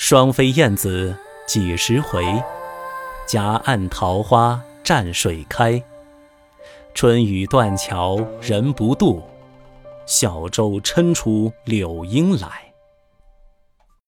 双飞燕子几时回？夹岸桃花蘸水开。春雨断桥人不渡，小舟撑出柳阴来。